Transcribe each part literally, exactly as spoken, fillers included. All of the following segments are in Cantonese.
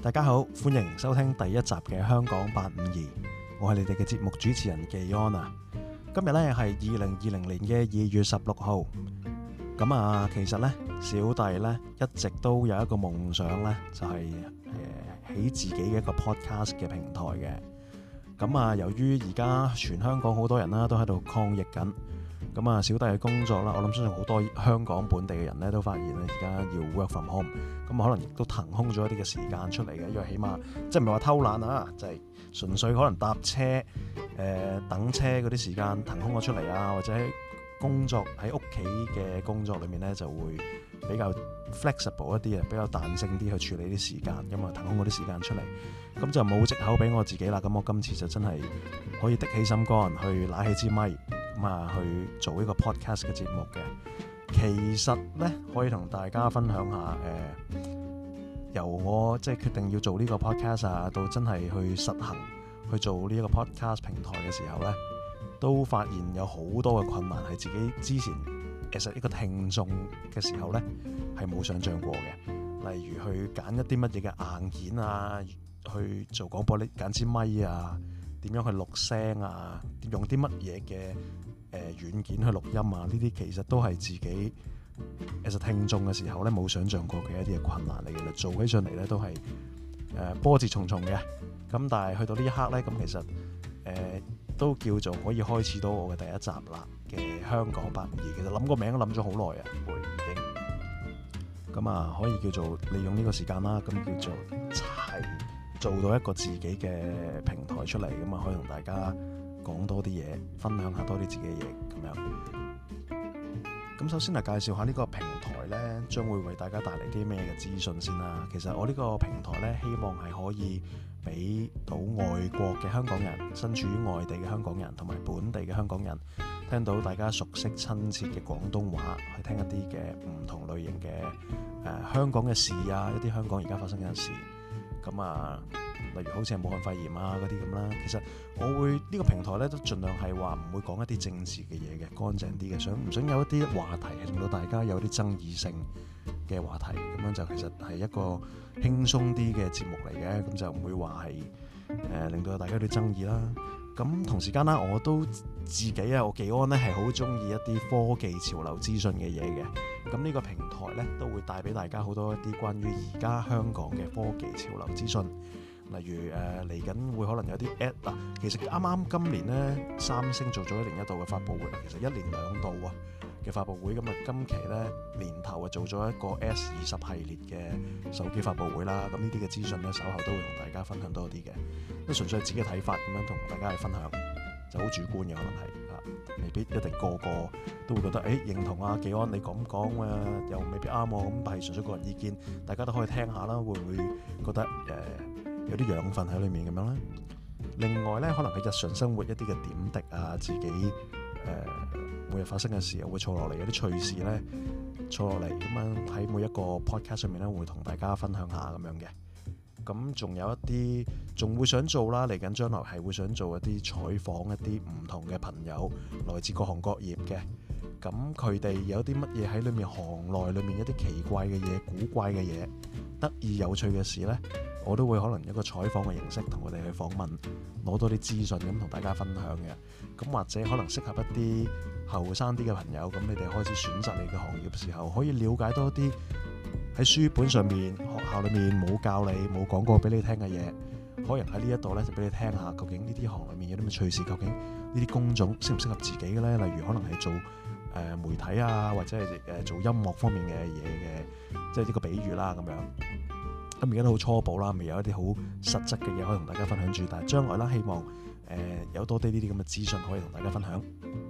大家好，歡迎收聽第一集嘅香講八五二，我係你哋嘅節目主持人技安啊。今日呢係二零二零年嘅二月十六號，咁啊，其實呢，小弟呢一直都有一個夢想呢，就係、是、誒、呃、起自己嘅一個 podcast 嘅平台嘅。咁啊，由於而家全香港好多人啦都喺度抗疫緊，咁啊，小弟嘅工作啦，我諗相信好多香港本地嘅人呢都發現咧，而家要 work from home，咁可能亦都騰空咗一啲嘅時間出嚟嘅，因為起碼即係唔係話偷懶啊，就係、是、純粹可能搭車、誒、呃、等車嗰啲時間騰空咗出嚟啊，或者喺工作喺屋企嘅工作裏面呢就會比較 flexible 一啲啊，比較彈性啲去處理啲時間，咁啊騰空嗰啲時間出嚟，咁就冇藉口俾我自己啦。咁我今次就真係可以的起心肝去拿起支咪，咁啊去做呢個 podcast 嘅節目嘅。其實呢，可以同大家分享下誒、呃，由我即係決定要做呢個 podcast 啊，到真係去實行去做呢一個 podcast 平台嘅時候呢，都發現有好多嘅困難係自己之前其實一個聽眾嘅時候呢係冇想象過嘅，例如去揀一啲乜嘢嘅硬件啊，去做廣播呢揀支咪啊，點樣去錄聲啊，用啲乜嘢嘅誒軟件去錄音啊，呢啲其實都係自己其實聽眾嘅時候呢冇想象過嘅一啲嘅困難嚟嘅，做起上嚟呢都係誒、呃、波折重重嘅。咁但係去到呢一刻呢，咁其實誒、呃、都叫做可以開始到我嘅第一集啦嘅香講八五二。其實諗個名都諗咗好耐啊，會已經咁啊，可以叫做利用呢個時間啦，咁叫做係做到一個自己嘅平台出嚟，咁啊可以同大家講多啲嘢，分享下多啲自己嘅嘢咁樣。咁首先嚟介紹下呢個平台呢，將會為大家帶嚟啲咩嘅資訊先啦。其實我呢個平台呢，希望係可以俾到外國嘅香港人，身處於外地嘅香港人同埋本地嘅香港人，聽到大家熟悉親切嘅廣東話，去聽一啲嘅唔同類型嘅誒、呃、香港嘅事啊，一啲香港而家發生嘅事。咁啊，例如好似係武漢肺炎啊嗰啲咁啦。其實我會呢、呢個平台咧都盡量係話唔會講一啲政治嘅嘢嘅，乾淨啲嘅，想唔想有一啲話題係令到大家有啲爭議性嘅話題，咁樣就其實係一個輕鬆啲嘅節目嚟嘅，咁就唔會話係誒令到大家有啲爭議啦。咁同時間啦，我都自己啊，我技安咧係好中意一啲科技潮流資訊嘅嘢嘅。咁呢個平台咧都會帶俾大家好多一啲關於而家香港嘅科技潮流資訊，例如誒嚟緊會可能有啲 app 嗱，其實啱啱今年咧三星做咗一年一度嘅發佈會，其實一年兩度啊嘅發佈會，咁啊今期咧年頭啊做咗一個 S 二十系列嘅手機發佈會啦，咁呢啲嘅資訊咧稍後都會同大家分享多啲嘅，都純粹係自己嘅睇法咁樣同大家去分享，就好主觀嘅可能係。未必一定個個都會覺得誒、欸、認同啊，技安你咁講啊，又未必啱喎。咁但係純粹個人意見，大家都可以聽下啦。會唔會覺得誒、呃、有啲養分喺裏面咁樣咧？另外咧，可能係日常生活一啲嘅點滴啊，自己誒、呃、每日發生嘅事會坐落嚟，有啲趣事咧坐落嚟咁樣喺每一個 podcast 上面咧，會同大家分享下咁樣嘅。咁仲有一啲仲會想做啦，嚟緊將來係會想做一啲採訪一啲唔同嘅朋友，來自各行各業嘅。咁佢哋有啲乜嘢喺裏面行內裏面一啲奇怪嘅嘢、古怪嘅嘢、得意有趣嘅事呢，我都會可能一個採訪嘅形式同佢哋去訪問，攞多啲資訊咁同大家分享嘅。咁或者可能適合一啲後生啲嘅朋友，咁你哋開始選擇你嘅行業嘅時候，可以了解多啲喺書本上面、學校裏面冇教你、冇講過俾你聽嘅嘢，可能喺呢一度咧就俾你聽下，究竟呢啲行裏面有啲咩趣事，究竟呢啲工種適唔適合自己嘅咧？例如可能係做誒、呃、媒體啊，或者係誒做音樂方面嘅嘢嘅，即係呢個比喻啦咁樣。咁而家都好初步啦，未有一啲好實質嘅嘢可以同大家分享住，但係將來啦，希望誒、呃、有多啲呢啲咁嘅資訊可以同大家分享。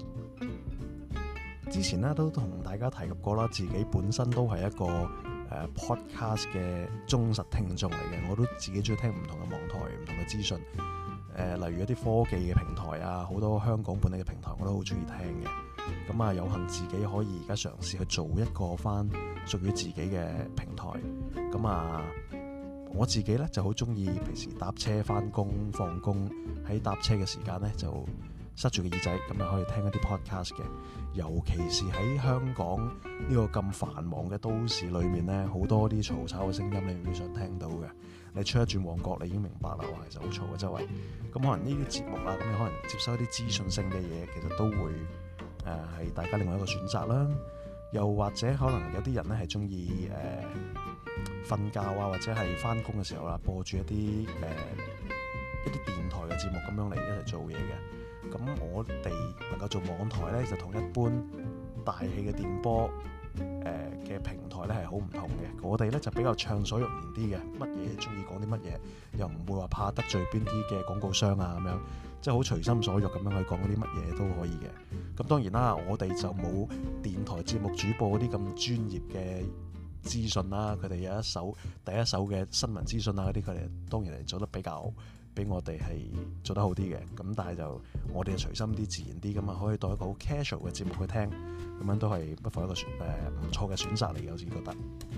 之前咧都同大家提及過啦，自己本身都係一個誒、呃、podcast 嘅忠實聽眾嚟嘅，我都自己中意聽唔同嘅網台、唔同嘅資訊，誒、呃、例如一啲科技嘅平台啊，好多香港本地嘅平台我都好中意聽嘅。咁啊，有幸自己可以而家嘗試去做一個翻屬於自己嘅平台。咁啊，我自己咧就好中意平時搭車翻工、放工，喺搭車嘅時間咧就塞住個耳仔，咁就可以聽一啲 podcast 嘅。尤其是喺香港呢個咁繁忙嘅都市裏面呢，好多啲嘈吵嘅聲音你會想聽到嘅。你出一轉旺角，你已經明白啦，哇，其實好嘈嘅周圍。咁可能呢啲節目啦，咁你可能接收一啲資訊性嘅嘢，其實都會誒係、呃、大家另外一個選擇啦。又或者可能有啲人咧係中意誒瞓覺啊，或者係翻工嘅時候啦，播住一啲誒、呃、一啲電台嘅節目咁樣嚟一齊做嘢嘅。咁我哋能夠做網台咧，就同一般大氣嘅電波誒嘅、呃、平台咧係好唔同嘅。我哋咧就比較暢所欲言啲嘅，乜嘢中意講啲乜嘢，又唔會話怕得罪邊啲嘅廣告商啊咁樣。即係好隨心所欲咁樣去講嗰啲乜嘢都可以嘅。咁當然啦，我哋就冇電台節目主播嗰啲咁專業嘅資訊啦。佢哋有一手第一手嘅新聞資訊啊嗰啲，佢哋當然係做得比較比我哋係做得好啲嘅。咁但係就我哋就隨心啲、自然啲咁啊，可以當一個好 casual 嘅節目去聽，咁樣都係不妨一個誒唔錯嘅選擇嚟嘅。我自己覺得。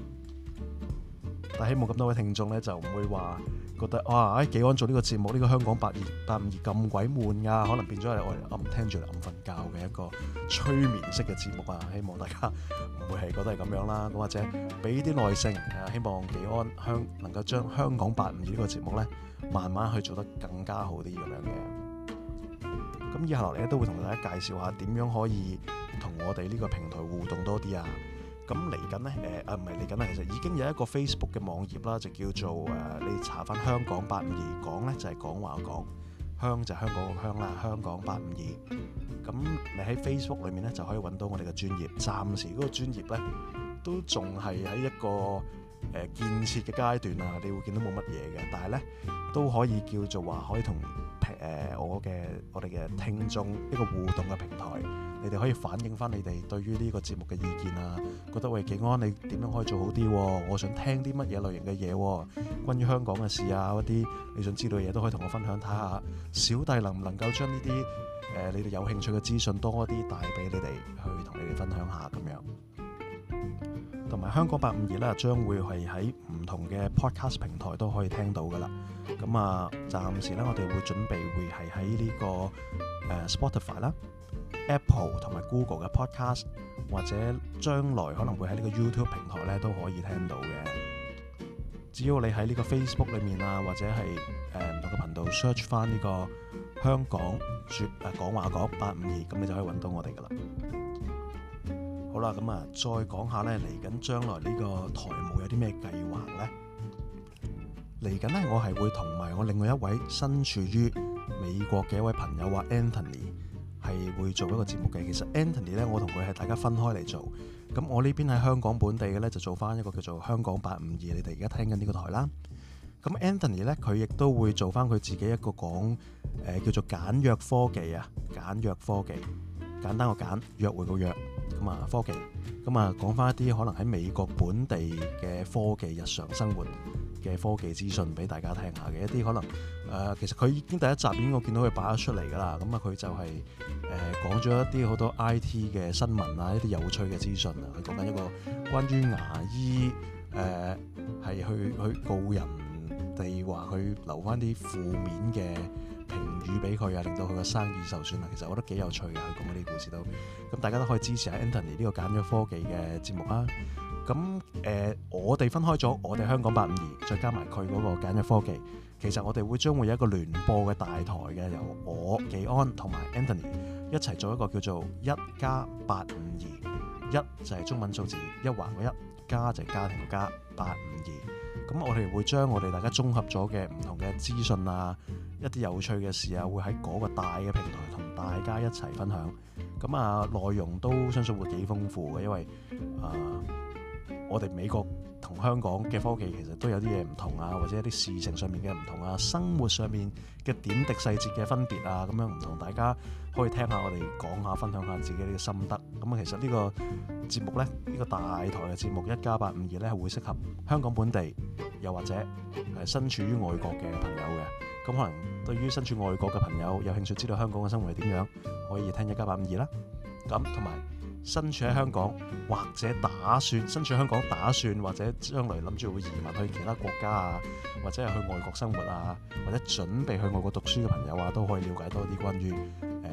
但係希望咁多位聽眾咧就唔會話覺得哇，誒紀安做呢個節目，呢、呢個香講八二八五二咁鬼悶㗎，可能變咗係我哋暗聽住嚟暗瞓覺嘅一個催眠式嘅節目啊！希望大家唔會係覺得係咁樣啦，咁或者俾啲耐性，希望紀安香能夠將香講八五二呢個節目咧，慢慢去做得更加好啲咁樣嘅。咁以下落嚟咧都會同大家介紹下點樣可以同我哋呢個平台互動多啲啊！咁嚟緊咧，誒啊唔係嚟緊啦，其實已經有一個 Facebook 嘅網頁啦，就叫做誒、呃，你查翻香講八五二，講咧就係講話講，香就係香港個香啦，香講八五二。咁你喺 Facebook 裏面咧就可以揾到我哋嘅專頁，暫時嗰個專頁咧都仲係喺一個誒、呃、建設嘅階段啊，你會見到冇乜嘢嘅，但係咧都可以叫做話可以同誒、呃、我嘅我哋嘅聽眾一個互動嘅平台。你哋可以反映翻你哋對於呢個節目嘅意見啊，覺得喂紀安你點樣可以做好啲？我想聽啲乜嘢類型嘅嘢，關於香港嘅事啊，嗰啲你想知道嘅嘢都可以同我分享，睇下小弟能唔能夠將呢啲誒你哋有興趣嘅資訊多啲帶俾你哋去同你哋分享下咁樣。同埋香講八五二咧，將會係喺唔同嘅 podcast 平台都可以聽到噶啦。咁啊，暫時咧我哋會準備會係喺呢個誒、呃、Spotify 啦、Apple 同埋 Google 嘅 podcast， 或者將來可能會喺呢個 YouTube 平台咧都可以聽到嘅。只要你喺呢個 Facebook 裏面啊，或者係誒唔同嘅頻道 search 翻呢個香港說誒講話講八五二，咁你就可以揾到我哋噶啦。好啦，咁啊，再講下咧，嚟緊將來呢個台務有啲咩計劃咧？嚟緊咧，我係會同埋我另外一位身處於美國嘅一位朋友話 Anthony 係會做一個節目嘅。其實 Anthony 咧，我同佢係大家分開嚟做。咁我呢邊喺香港本地嘅咧，就做翻一個叫做香講八五二。你哋而家聽緊呢個台啦。咁 Anthony 咧，佢亦都會做翻佢自己一個講誒、呃、叫做簡約科技啊，簡約科技，簡單個簡，約會個約。咁啊，科技咁啊，講翻一啲可能喺美國本地嘅科技日常生活嘅科技資訊俾大家聽下嘅一啲可能誒、呃，其實佢已經第一集已經我見到佢擺咗出嚟㗎啦。咁啊，佢就係、是、誒、呃、講咗一啲好多 I T 嘅新聞啊，一啲有趣嘅資訊啊。佢講緊一個關於牙醫誒係、呃、去去告人哋話佢留翻啲負面嘅評語俾佢啊，令到佢個生意受損啊。其實我覺得幾有趣嘅，佢講嗰啲故事都咁，大家都可以支持下 Anthony 呢個簡約科技嘅節目啦。咁誒、呃，我哋分開咗，我哋香講八五二，再加埋佢嗰個簡約科技。其實我哋會將會有一個聯播嘅大台嘅，由我紀安同埋 Anthony 一齊做一個叫做一加八五二，一就係中文數字一橫個一，加就係家庭個加，八五二。咁我哋會將我哋大家綜合咗嘅唔同嘅資訊啊，一啲有趣嘅事啊，會喺嗰個大嘅平台同大家一齊分享。咁啊，內容都相信會幾豐富嘅，因為啊。呃我哋美國同香港嘅科技其實都有啲嘢唔同啊，或者一啲事情上面嘅唔同啊，生活上面嘅點滴細節嘅分別啊，咁樣唔同，大家可以聽下我哋講下，分享下自己呢個心得。咁啊，其實呢個節目呢，呢、呢個大台嘅節目一加八五二呢，係會適合香港本地，又或者係身處於外國嘅朋友嘅。咁可能對於身處外國嘅朋友有興趣知道香港嘅生活係點樣，可以聽一加八五二啦。咁同埋身處喺香港或者打算身處香港打算或者將來諗住會移民去其他國家啊，或者係去外國生活啊，或者準備去外國讀書嘅朋友啊，都可以了解多啲關於誒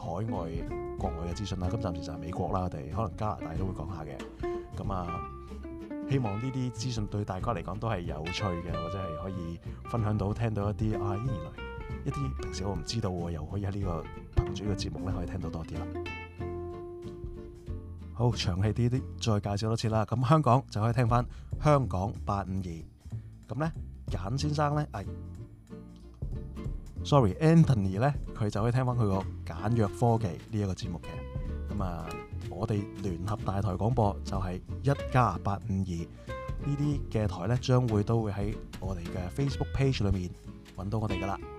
海外國外嘅資訊啦。咁暫時就係美國啦，我哋可能加拿大都會講下嘅。咁啊，希望呢啲資訊對大家嚟講都係有趣嘅，或者係可以分享到聽到一啲啊，原來一啲平時我唔知道喎，又可以喺呢個憑住呢個節目咧可以聽到多啲啦。好，長氣啲啲，再介紹多次啦。咁香港就可以聽翻香講八五二。咁咧，簡先生咧，係、哎、，sorry，Anthony 咧，佢就可以聽翻佢個簡約科技呢一個節目嘅。咁啊，我哋聯合大台廣播就係一加八五二呢啲嘅台咧，將會都會喺我哋嘅 Facebook page 裏面揾到我哋噶啦。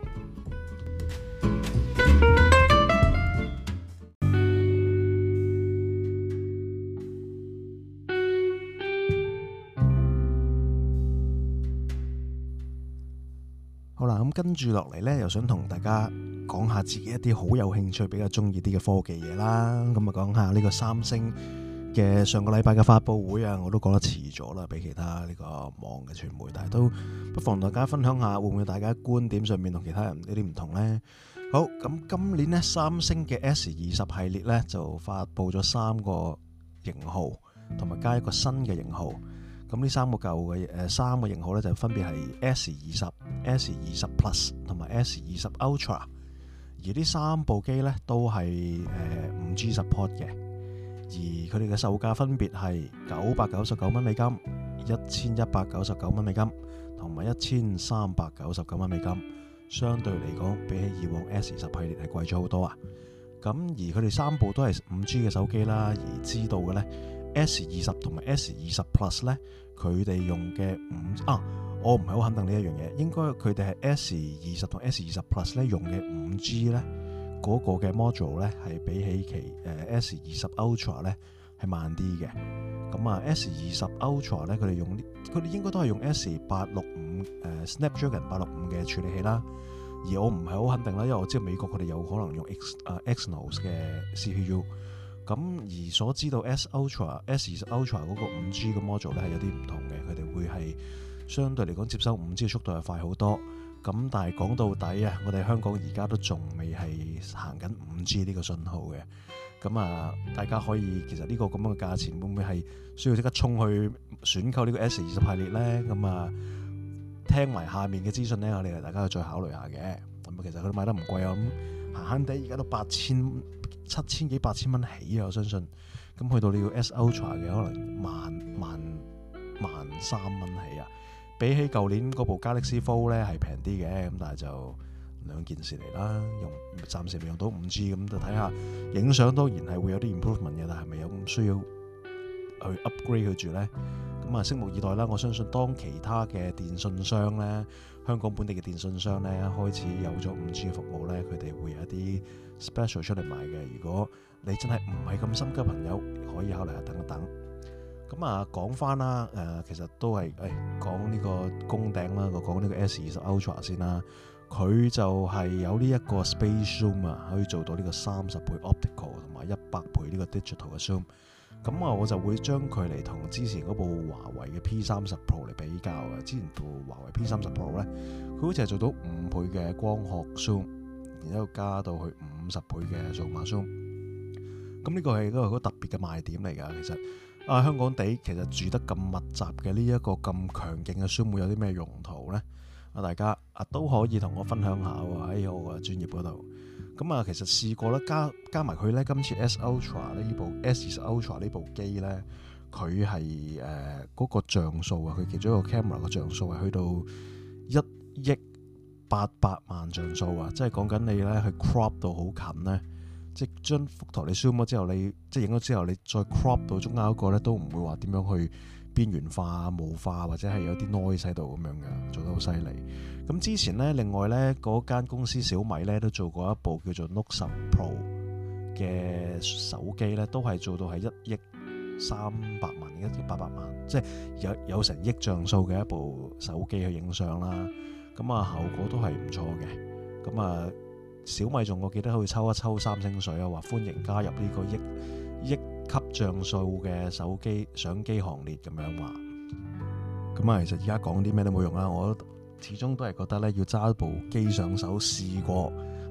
好啦，咁跟住落嚟呢，又想同大家講下自己一啲好有興趣、比較中意啲嘅科技嘢啦。咁啊，講下呢個三星嘅上個禮拜嘅發佈會啊，我都講得遲咗啦，比其他呢個網嘅傳媒，但係都不妨同大家分享下，會唔會大家觀點上面同其他人有啲唔同呢？好，咁今年呢，三星嘅 S 二十系列呢，就發佈咗三個型號，同埋加一個新嘅型號。咁呢三個舊嘅誒三個型號咧，就分別係 S 二十、S 二十 Plus 同埋 S 二十 Ultra。而呢三部機咧都係誒五 G support 嘅，而佢哋嘅售價分別係九百九十九蚊美金、一千一百九十九蚊美金同埋一千三百九十九蚊美金。相對嚟講，比起以往 S 二十系列係貴咗好多啊！咁而佢哋三部都係五 G 嘅手機啦，而知道嘅咧。S 二十同埋 S 二十 Plus 咧，佢哋用嘅五啊，我唔係好肯定呢一樣嘢，應該佢哋係 S 二十同 S 二十 Plus 咧用嘅五 G 咧嗰個嘅 module 咧係比起其誒 S 二十 Ultra 咧係慢啲嘅。咁啊 S 二十 Ultra 咧佢哋用佢哋應該都係用 S 八六五誒 Snapdragon 八六五嘅處理器啦。而我唔係好肯定啦，因為我知道美國佢哋有可能用 X 啊 Exynos 嘅 C P U。咁而所知道 S Ultra、S 二十 Ultra 嗰個五 G 嘅 module 咧係有啲唔同嘅，佢哋會係相對嚟講接收五 G 嘅速度係快好多。咁但係講到底啊，我哋香港而家都仲未係行緊五 G 呢個信號嘅。咁啊，大家可以其實呢個咁樣嘅價錢會唔會係需要即刻衝去選購呢個 S 二十系列咧？咁啊，聽埋下面嘅資訊咧，我哋大家再考慮下嘅。咁其實佢賣得唔貴啊，咁閒閒地而家都八千。七千幾八千蚊起啊！我相信咁去到你要 S Ultra 嘅可能萬萬萬三蚊起啊！比起舊年嗰部 Galaxy Fold 咧係平啲嘅，咁但係就兩件事嚟啦。用暫時未用到五 G， 咁就睇下影相當然係會有啲 improvement 嘅，但係咪有咁需要去 upgrade 佢住咧？咁啊，拭目以待啦！我相信當其他嘅電信商咧，香港本地嘅電信商咧開始有咗五 G 嘅服務咧，佢哋會有一啲 special 出嚟賣嘅。如果你真係唔係咁心急，朋友可以考慮下等一等。咁啊，講翻啦，誒，其實都係誒講呢個攻頂啦，我講呢個 S 二十 Ultra 先啦。佢就係有呢一個 Space Zoom 啊，可以做到呢個三十倍 optical 同埋一百倍呢個 digital 嘅 zoom。咁啊，我就會將佢嚟同之前嗰部華為嘅 P 三十 Pro 嚟比較嘅。之前部華為 P 三十 Pro 咧，佢好似係做到五倍嘅光學 zoom，然之後加到去五十倍嘅數碼 zoom。咁呢個係一個好特別嘅賣點嚟㗎。其實啊，香港地其實住得咁密集嘅呢一個咁強勁嘅 zoom 會有啲咩用途咧？啊，大家啊都可以同我分享下喎喺我個專業嗰度。咁啊，其實試過咧，加加埋佢咧，今次 S Ultra 呢部 S 二十 Ultra 呢部機咧，佢係誒嗰個像素啊，佢其中一個 camera 個像素係去到一億八百萬像素啊，即係講緊你咧去 crop 到好近咧，即係將幅圖你 zoom 咗之後，你即係影咗之後，你再 crop 到中間嗰個咧，都唔會話點樣去邊緣化、霧化或者係有啲 noise 喺度咁樣嘅，做得好犀利。咁之前咧，另外咧嗰間公司小米咧都做過一部叫做 Note 十 Pro 嘅手機咧，都係做到係一億三百萬、一億八百萬，即係有有成億像素嘅一部手機去影相啦。咁啊，效果都係唔錯嘅。咁啊，小米仲我記得可以抽一抽三星水啊，話歡迎加入呢個億億級像素嘅手機相機行列咁樣話。咁啊，其實而家講啲咩都冇用啦，我始終都係覺得咧，要揸部機上手試過係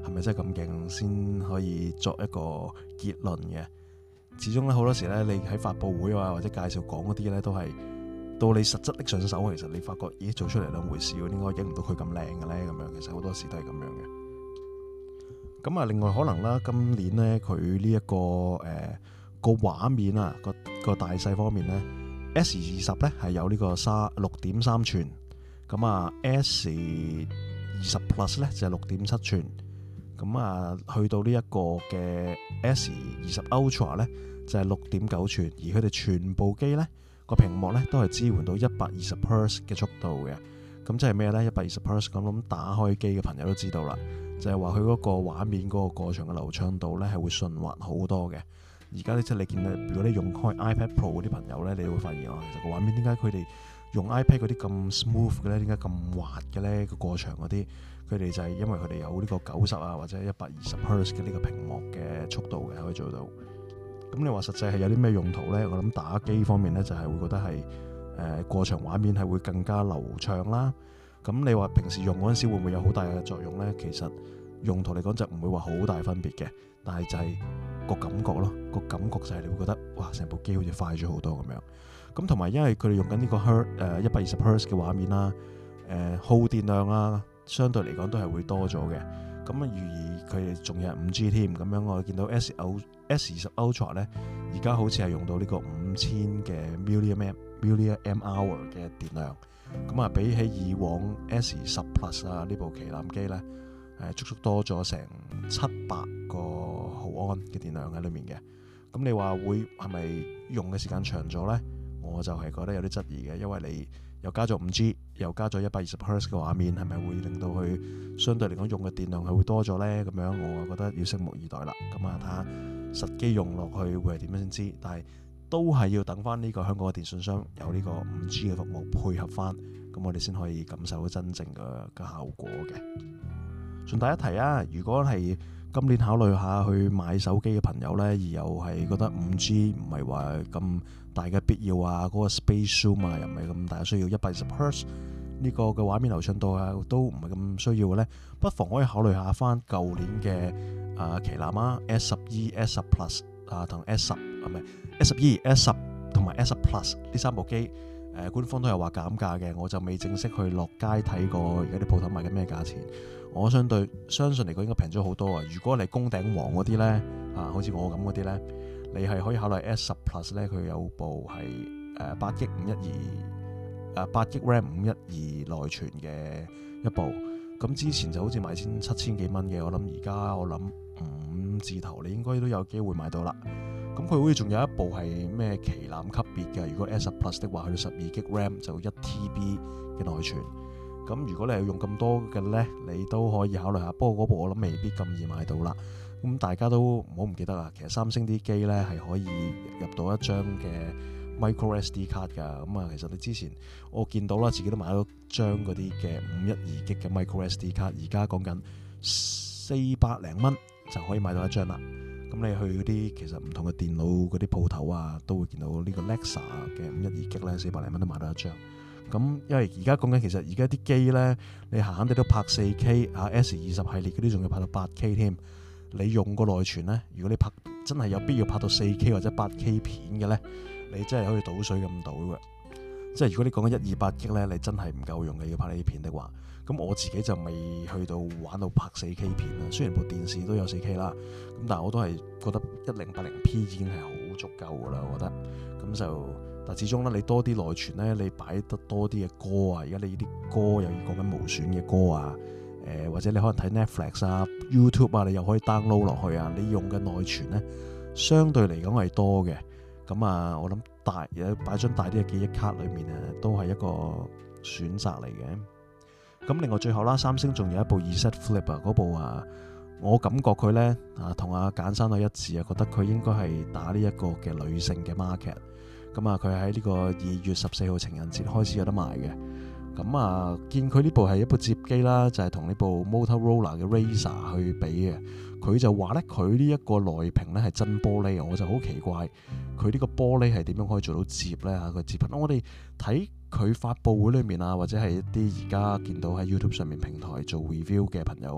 係咪真係咁勁先可以作一個結論嘅。始終咧好多時咧，你喺發佈會啊或者介紹講嗰啲咧，都係到你實質拎上手，其實你發覺咦做出嚟兩回事喎，點解影唔到佢咁靚嘅咧？咁樣其實好多時都係咁樣嘅。咁啊，另外可能啦，今年咧佢呢一個誒個畫面啊個個大細方面咧 ，S 二十咧係有呢個三六點三寸，咁啊 S 二十 Plus 咧就係六點七寸。咁啊，去到呢一個嘅 S 二十 Ultra 咧，就係六點九寸，而佢哋全部機咧個屏幕咧都係支援到一百二十赫茲嘅速度嘅。咁即係咩咧？一百二十赫茲咁，咁打開機嘅朋友都知道啦，就係話佢嗰個畫面嗰個過場嘅流暢度咧係會順滑好多嘅。而家咧即係你見到，如果你用開 iPad Pro 嗰啲朋友咧，你會發現啊，其實個畫面點解佢哋用 iPad 嗰啲咁 smooth 嘅咧？點解咁滑嘅咧？個過場嗰啲？佢哋就係因為佢哋有呢個九十啊或者一百二十赫茲嘅呢個屏幕嘅速度嘅可以做到。咁你話實際係有啲咩用途呢？我諗打機方面呢，就係會覺得係誒、呃、過場畫面係會更加流暢啦。咁你話平時用嗰陣時會唔會有好大嘅作用呢？其實用途嚟講就唔會話好大分別嘅，但係就係個感覺咯，個感覺就係你會覺得哇成部機好似快咗好多咁樣。咁同埋因為佢哋用緊呢個赫誒一百二十赫茲嘅畫面啦，誒、呃、耗電量啊。相對嚟講都係會多咗嘅，咁啊，預而佢哋仲有五 G 添，咁樣我見到 S 二十 Ultra 咧，而家好似係用到呢個五千嘅 milliamp milliamp hour 嘅電量，咁啊，比起以往 S 十 Plus 啊呢部旗艦機咧，誒足足多咗成七百個毫安嘅電量喺裏面嘅，咁你話會係咪用嘅時間長咗咧？我就係覺得有啲質疑嘅，因為你又加咗五 G， 又加咗一百二十赫茲嘅畫面，係咪會令到佢相對嚟講用嘅電量係會多咗呢？咁樣我覺得要拭目以待啦。咁啊，睇下實機用落去會係點樣先知。但係都係要等翻呢個香港嘅電信商有呢個五 G 嘅服務配合翻，咁我哋先可以感受到真正嘅嘅效果嘅。順帶一提啊，如果係今年考慮下去買手機嘅朋友呢，而又係覺得五 G 唔係話咁大嘅必要啊，嗰、那個 Space Zoom 啊又唔係咁大需要，一百二十赫茲呢個嘅畫面流暢度啊都唔係咁需要嘅呢，不妨可以考慮下翻舊年嘅啊旗艦啊 S 十二、S 十 Plus 啊同 S 十啊唔係 S 十二、S 十同埋 S 十 Plus 呢三部機，誒、呃、官方都有話減價嘅，我就未正式去落街睇過而家啲鋪頭賣緊咩價錢。我相對相信嚟講應該平咗好多啊！如果你宮頂王嗰啲咧啊，好似我咁嗰啲咧，你係可以考慮 S 十 Plus 咧，佢有部係誒八 G 五一二誒八 G RAM 五一二內存嘅一部。咁之前就好似賣千七千幾蚊嘅，我諗而家我諗五字頭你應該都有機會買到啦。咁佢好似仲有一部係咩旗艦級別嘅，如果 S 十 Plus 的話，去到十二 G RAM 就一 T B 嘅內存。咁如果你係用咁多嘅呢，你都可以考慮下。不過嗰部我諗未必咁易買到啦。咁大家都唔好唔記得啊，其實三星啲機呢係可以入到一張嘅 micro S D 卡㗎。咁啊，其實你之前我見到啦，自己都買咗張嗰啲嘅五一二 G 嘅 micro S D 卡，而家講緊四百零蚊就可以買到一張啦。咁你去嗰啲其實唔同嘅電腦嗰啲鋪頭啊，都會見到呢個 Lexa 嘅五一二 G 咧，四百零蚊都買到一張。咁因為而家講緊其實而家啲機咧，你閒閒地都拍四 K 啊 S 二十系列嗰啲仲要拍到八 K 添。你用個內存咧，如果你拍真係有必要拍到四 K 或者八 K 片嘅咧，你真係可以倒水咁倒嘅。即係如果你講緊一二八 G 咧，你真係唔夠用嘅，要拍呢啲片的話。咁我自己就未去到玩到拍四 K 片啦。雖然部電視都有四 K 啦，咁但係我都係覺得一零八零 P 已經係好足夠噶啦。我覺得咁就。但始終咧，你多啲內存咧，你擺得多啲嘅歌啊，而家你啲歌又要講緊無損嘅歌啊，誒、呃、或者你可能睇 Netflix 啊、YouTube 啊，你又可以 download 落去啊，你用嘅內存咧，相對嚟講係多嘅。咁啊，我諗大有擺張大啲嘅記憶卡裏面啊，都係一個選擇嚟嘅。咁另外最後啦，三星仲有一部 Z Flip 啊，嗰部啊，我感覺佢咧啊同阿簡生都一致啊，覺得佢應該係打呢一個嘅女性嘅 market。咁啊，佢喺呢個二月十四號情人節開始有得賣嘅。咁啊，見佢呢部係一部摺機啦，就係同呢部 Motorola 嘅 Razr 去比嘅。佢就話咧，佢呢一個內屏咧係真玻璃，我就好奇怪，佢呢個玻璃係點樣可以做到摺咧嚇？佢摺品，我哋睇佢發佈會裏面啊，或者係一啲而家見到喺 YouTube 上面平台做 review 嘅朋友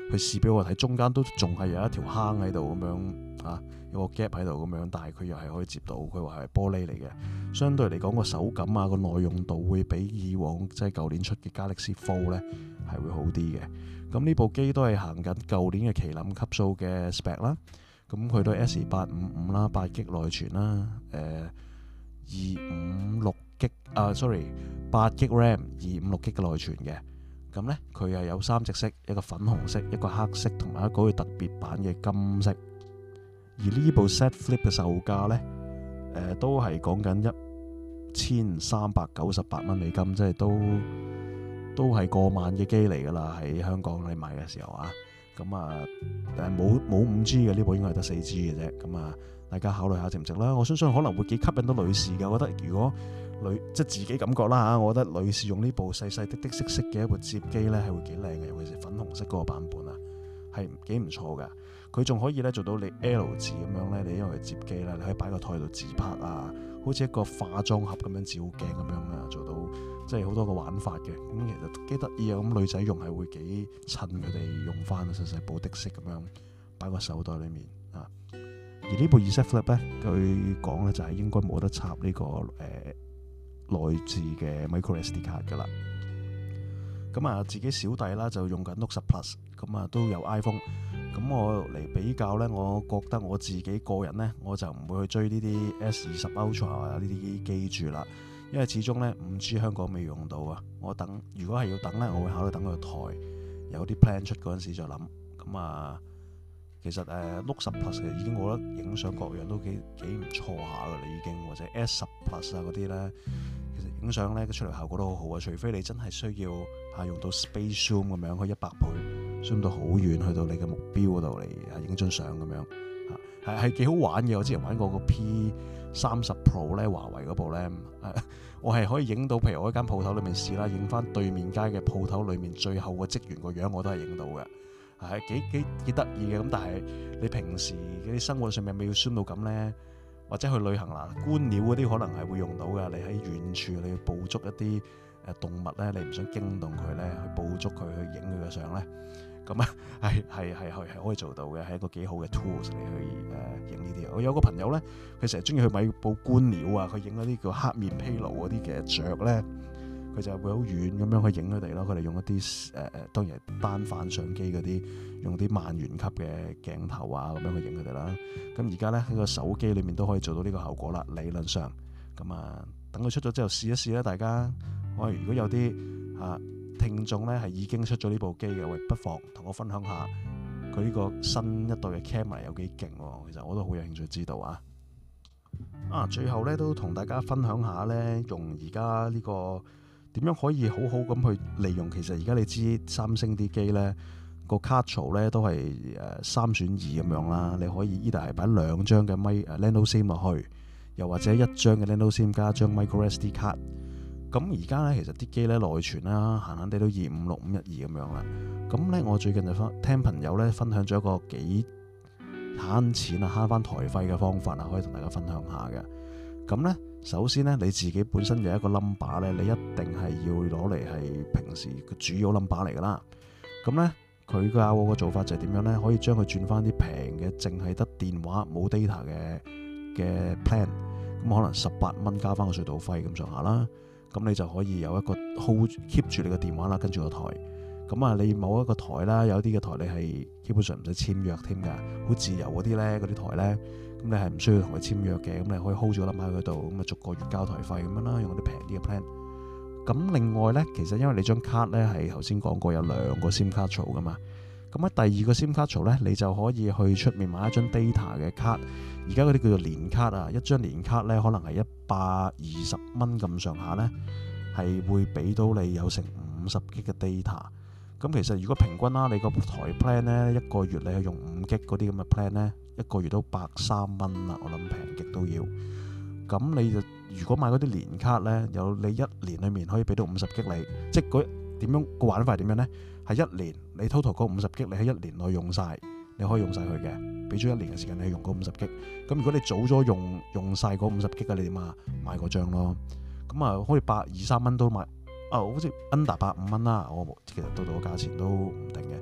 去試俾我睇，中間都仲係有一條坑喺度咁樣啊，有個 gap 喺度咁樣，但係佢又係可以接到，佢話係玻璃嚟嘅，相對嚟講個手感啊個耐用度會比以往即係舊年出嘅 Galaxy Fold 咧係會好啲嘅。咁呢部機都係行緊舊年嘅麒麟級數嘅 spec 啦，咁佢都係 S 八五五啦，八 G 內存啦，誒二五六 G 啊 sorry 八 G RAM 二五六 G 嘅內存嘅。咁呢，佢係有三隻色，一個粉紅色，一個黑色，同埋一個特別版嘅金色。而呢部 Z Flip 嘅售價呢，呃、都係講緊一千三百九十八蚊美金，即係都都係過萬嘅機嚟㗎啦。喺香港你買嘅時候啊，咁啊，誒冇冇五 G 嘅呢部應該係得四 G 嘅啫。咁啊，大家考慮下值唔值啦。我相信可能會幾吸引到女士嘅。我覺得如果女即係自己感覺啦嚇，我覺得女士用呢部細細的的色色嘅一部摺機咧係會幾靚嘅，尤其是粉紅色嗰個版本啊，係幾唔錯㗎。佢仲可以咧做到你 L 字咁樣咧，你因為摺機啦，你可以擺個台度自拍啊，好似一個化妝盒咁樣照鏡咁樣啊，做到即係好多個玩法嘅。咁其實幾得意啊！咁女仔用係會幾襯佢哋用翻細細部的色咁樣擺個手袋裡面啊。而呢部 Z Flip 咧，佢講咧就係應該冇得插呢、這個誒。呃內置嘅 micro S D 卡噶啦，咁啊自己小弟啦就用緊 Note 十 Plus， 咁啊都有 iPhone， 咁我嚟比較呢，我覺得我自己個人呢，我就唔會去追呢啲 S 二十 Ultra 啊呢啲機住啦，因為始終呢五 G 香港未用到啊，我等如果係要等呢，我會考慮等佢台有啲 plan 出嗰陣時再諗，咁啊其實誒 Note 十 Plus 其實已經我覺得影相各樣都幾幾唔錯下噶啦已經，或者 S 十 Plus 啊嗰啲呢。其實影相咧出嚟效果都好好啊，除非你真係需要啊用到 Space Zoom 咁樣，去一百倍 zoom 到好遠，去到你嘅目標嗰度嚟啊影張相咁樣啊，係係幾好玩嘅。我之前玩過個 P 三十 Pro 咧，華為嗰部咧、啊，我係可以影到，譬如我喺間鋪頭裏面試啦，影翻對面街嘅鋪頭裏面最後個職員個樣，我都係影到嘅，係幾幾幾得意嘅。咁但係你平時嗰啲生活上面咪要 zoom 到咁咧？或者去旅行啦，觀鳥嗰啲可能係會用到㗎。你喺遠處你去捕捉一啲誒動物咧，你唔想驚動佢咧，去捕捉佢去影佢嘅相咧，咁啊係係係係可以做到嘅，係一個幾好嘅 tools 嚟去誒影呢啲。我有個朋友咧，佢成日中意去買部觀鳥啊，佢影嗰啲叫黑面琵鷺嗰啲嘅雀咧，佢就會好遠咁樣去影佢哋咯。佢哋用一啲誒誒當然係單反相機嗰啲。用啲萬元級嘅鏡頭啊，咁樣去影佢哋啦。咁而家咧喺個手機裏面都可以做到呢個效果啦。理論上，咁啊等佢出咗之後試一試啦。大家，我如果有啲啊聽眾咧係已經出咗呢部機嘅，喂，不妨同我分享下佢呢個新一代嘅 camera 有幾勁喎。其實我都好有興趣知道啊。啊，最後咧都同大家分享下咧，用而家呢個點樣可以好好咁去利用。其實而家你知三星啲機咧。個卡槽咧都係誒三選二咁樣啦，你可以依度係擺兩張嘅咪誒 Nano SIM 落去，又或者一張嘅 Nano SIM 加張 micro S D 卡。咁而家咧其實啲機咧內存啦，閒閒地都二五六五一二咁樣啦。咁咧我最近就聽朋友咧分享咗一個幾慳錢啊慳翻台費嘅方法啊，可以同大家分享下嘅。咁咧首先咧你自己本身有一個 number 咧，你一定係要攞嚟係平時個主要 number 嚟噶啦。咁咧。佢教我個做法就係點樣咧？可以將佢轉翻啲平嘅，淨係得電話冇 data 嘅嘅 plan，咁可能十八蚊加翻個隧道費咁上下啦。咁你就可以有一個 hold keep 住你個電話啦，跟住個台。咁啊，你某一個台啦，有啲嘅台你係基本上唔使簽約添㗎，好自由嗰啲咧，嗰啲台咧，咁你係唔需要同佢簽約嘅，咁你可以 hold 住個 number 喺嗰度，咁啊逐個月交台費咁樣啦，用啲平啲嘅 plan。咁另外咧，其實因為你張卡咧係頭先講過有兩個 SIM 卡槽噶嘛，咁喺第二個 SIM 卡槽咧，你就可以去出面買一張 data 嘅卡。而家嗰啲叫做年卡啊，一張年卡咧可能係一百二十蚊咁上下咧，係會俾到你有成五十 G 嘅 data。咁其實如果平均啦，你個台 plan 咧一個月你係用五 G 嗰啲咁嘅 plan 咧，一個月都百三蚊啦，我諗平極都要。咁你就如果買嗰啲年卡咧，有你一年裡面可以俾到五十 G 你，即係嗰點樣個玩法點樣咧？係一年你 total 嗰五十 G 你喺一年內用晒，你可以用晒佢嘅，俾咗一年嘅時間你用嗰五十 G。咁如果你早咗用用晒嗰五十 G 嘅，你點啊？買嗰張咯。咁啊，可以百二三蚊都買，啊好似 under 百五蚊啦。我其實到到個價錢都唔定嘅。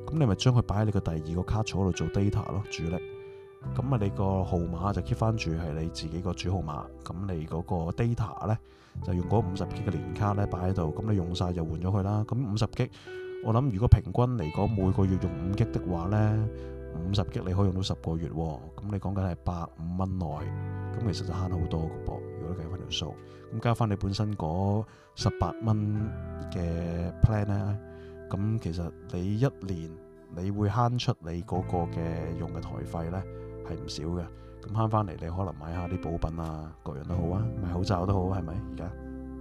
咁你咪將佢擺喺你個第二個卡槽度做 data 咯，主力。咁啊，你個號碼就 keep 翻住係你自己個主號碼。咁你嗰個 data 咧就用嗰五十 G 嘅年卡咧擺喺度。咁你用晒就換咗佢啦。咁五十 G，我諗如果平均嚟講每個月用五 G 的話咧，五十 G 你可以用到十個月。咁你講緊係百五蚊內，咁其實就慳好多個噃。如果你計翻條數，咁加翻你本身嗰十八蚊嘅 plan 咧，咁其實你一年你會慳出你嗰個嘅用嘅台費咧係唔少嘅。咁慳翻嚟你可能買下啲補品啊，各樣都好啊，買口罩都好，係咪而家？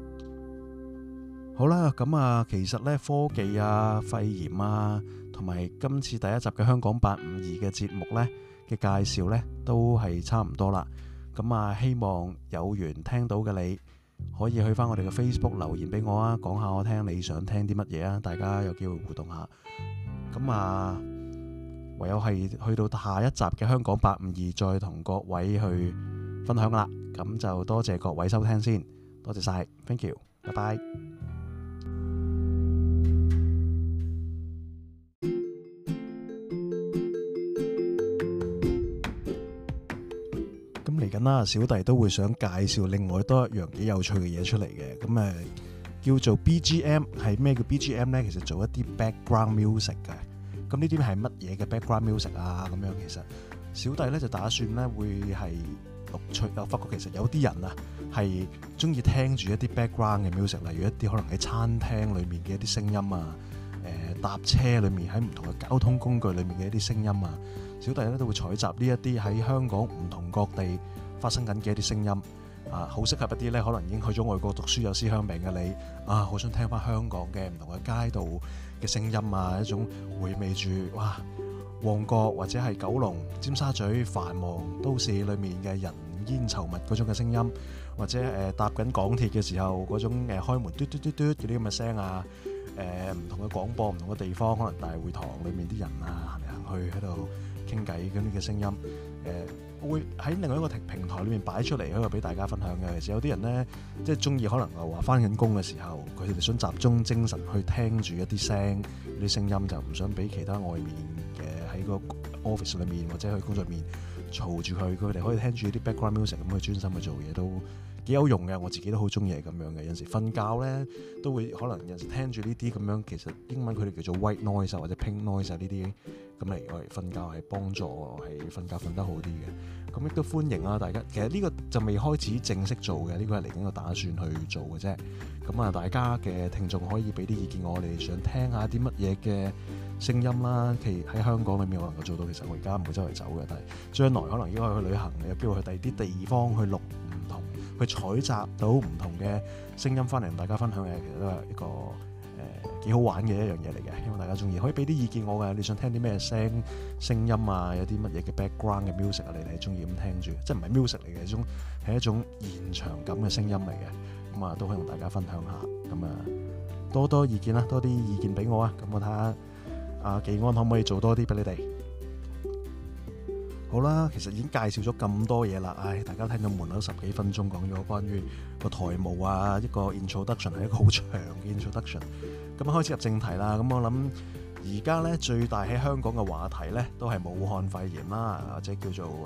好啦，咁啊，其實咧科技啊、肺炎啊，同埋今次第一集嘅香講八五二嘅節目咧嘅介紹咧，都係差唔多啦。咁啊，希望有緣聽到嘅你可以去翻我哋嘅 Facebook 留言俾我啊，講下我聽你想聽啲乜嘢啊，大家有機會互動下。咁啊，唯有係去到下一集嘅香講八五二，再同各位去分享啦。咁就多謝各位收聽先，多謝晒 ，thank you，拜拜。嚟緊啦，小弟都會想介紹另外多一樣幾有趣嘅嘢出嚟嘅，咁誒叫做 B G M。 係咩叫 B G M 呢？其實做一啲 background music 嘅。咁呢啲係乜嘢嘅 background music 啊？咁樣其實小弟咧就打算咧會係錄出。我發覺其實有啲人啊係中意聽住一啲 background 嘅 music， 例如一啲可能喺餐廳裏面嘅一啲聲音啊，誒搭車裏面喺唔同嘅交通工具裏面嘅一啲聲音啊。小弟咧都會採集呢一啲喺香港唔同各地發生緊嘅一啲聲音啊，好適合一啲咧可能已經去咗外國讀書有思鄉病嘅你啊，好想聽翻香港嘅唔同嘅街道嘅聲音啊，一種回味住哇旺角或者係九龍、尖沙咀繁忙都市裏面嘅人煙稠密嗰種嘅聲音，或者誒、呃、搭緊港鐵嘅時候嗰種誒開門嘟嘟嘟嘟嗰啲咁嘅聲啊，誒、呃、唔同嘅廣播、唔同嘅地方，可能大會堂裏面啲人啊行嚟行去喺度傾偈嗰啲嘅聲音，誒、呃、會喺另外一個平台裏面擺出嚟，喺度俾大家分享嘅。其實有啲人咧，即係中意可能話翻緊工嘅時候，佢哋想集中精神去聽住一啲聲、啲聲音，就唔想俾其他外面嘅喺個 office 裏面或者去工作面嘈住佢，佢哋可以聽住啲 background music 咁去專心去做嘢，都幾有用嘅。我自己都好中意係咁樣嘅。有陣時瞓覺咧都會可能有陣時聽住呢啲咁樣，其實英文佢哋叫做 white noise 或者 pink noise 啊呢啲。咁嚟我嚟瞓覺係幫助係瞓覺瞓得好啲嘅，咁亦都歡迎啊大家。其實呢個就未開始正式做嘅，呢、這個係嚟緊個打算去做嘅啫。咁啊，大家嘅聽眾可以俾啲意見我，哋想聽下啲乜嘢嘅聲音啦。其實喺香港裏面我能夠做到，其實我而家唔會周圍走嘅，但係將來可能應該去旅行，有機會去第二啲地方去錄唔同，去採集到唔同嘅聲音翻嚟同大家分享嘅，其實都係一個幾好玩嘅一樣嘢嚟嘅，希望大家中意，可以俾啲意見我嘅。你想聽啲咩聲聲音啊？有啲乜嘢嘅 background 嘅 music 啊？你哋係中意咁聽住，即係唔係 music 嚟嘅，一種係一種現場感嘅聲音嚟嘅。咁啊，都可以同大家分享下。咁啊，多多意見啦，多啲意見俾我啊。咁我睇下阿技安可唔可以做多啲俾你哋。好啦，其實已經介紹咗咁多嘢啦，唉，大家聽到悶咗十幾分鐘，講咗關於個台務啊，一個 introduction 係一個好長嘅 introduction。咁開始入正題啦。咁我諗而家咧最大喺香港嘅話題咧，都係武漢肺炎啦，或者叫做誒誒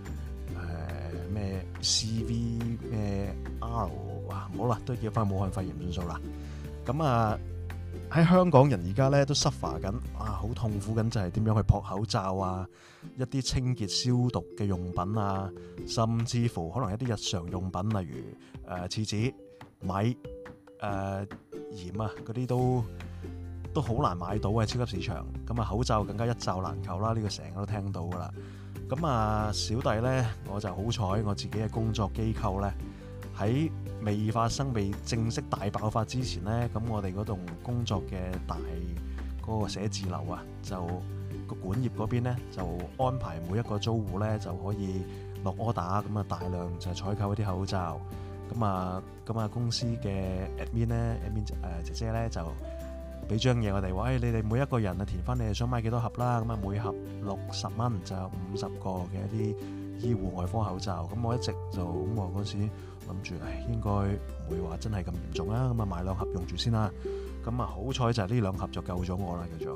咩 C V 咩 R， 哇，唔好啦，都叫翻武漢肺炎算數啦。咁啊喺香港人而家咧都 suffer 緊，啊好痛苦緊，就係點樣去撲口罩啊，一啲清潔消毒嘅用品啊，甚至乎可能一啲日常用品，例如誒廁紙、米。誒、呃、鹽啊，嗰啲都都好難買到嘅超級市場。咁啊，口罩更加一罩難求啦，呢、這個成日都聽到噶啦。咁啊，小弟呢，我就好彩，我自己嘅工作機構呢，喺未發生、未正式大爆發之前呢，咁我哋嗰棟工作嘅大嗰、那個寫字樓啊，就個管業嗰邊呢，就安排每一個租戶呢，就可以落 order，咁啊大量就採購一啲口罩。咁啊，咁啊，公司嘅 admin 咧 ，admin 誒姐姐咧就俾張嘢我哋話，誒你哋每一個人啊填翻你哋想買幾多盒啦，咁啊每盒六十蚊就有五十個嘅一啲醫護外科口罩。咁我一直就咁我嗰時諗住，誒應該唔會話真係咁嚴重啦，咁啊買兩盒用住先啦。咁啊好彩就係呢兩盒就救咗我啦，叫做